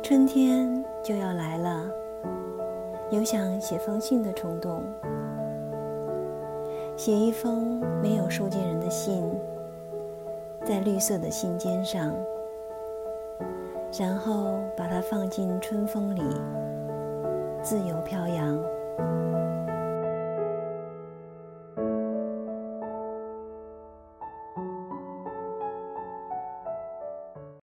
春天就要来了，有想写封信的冲动。写一封没有收件人的信，在绿色的信笺上，然后把它放进春风里，自由飘扬。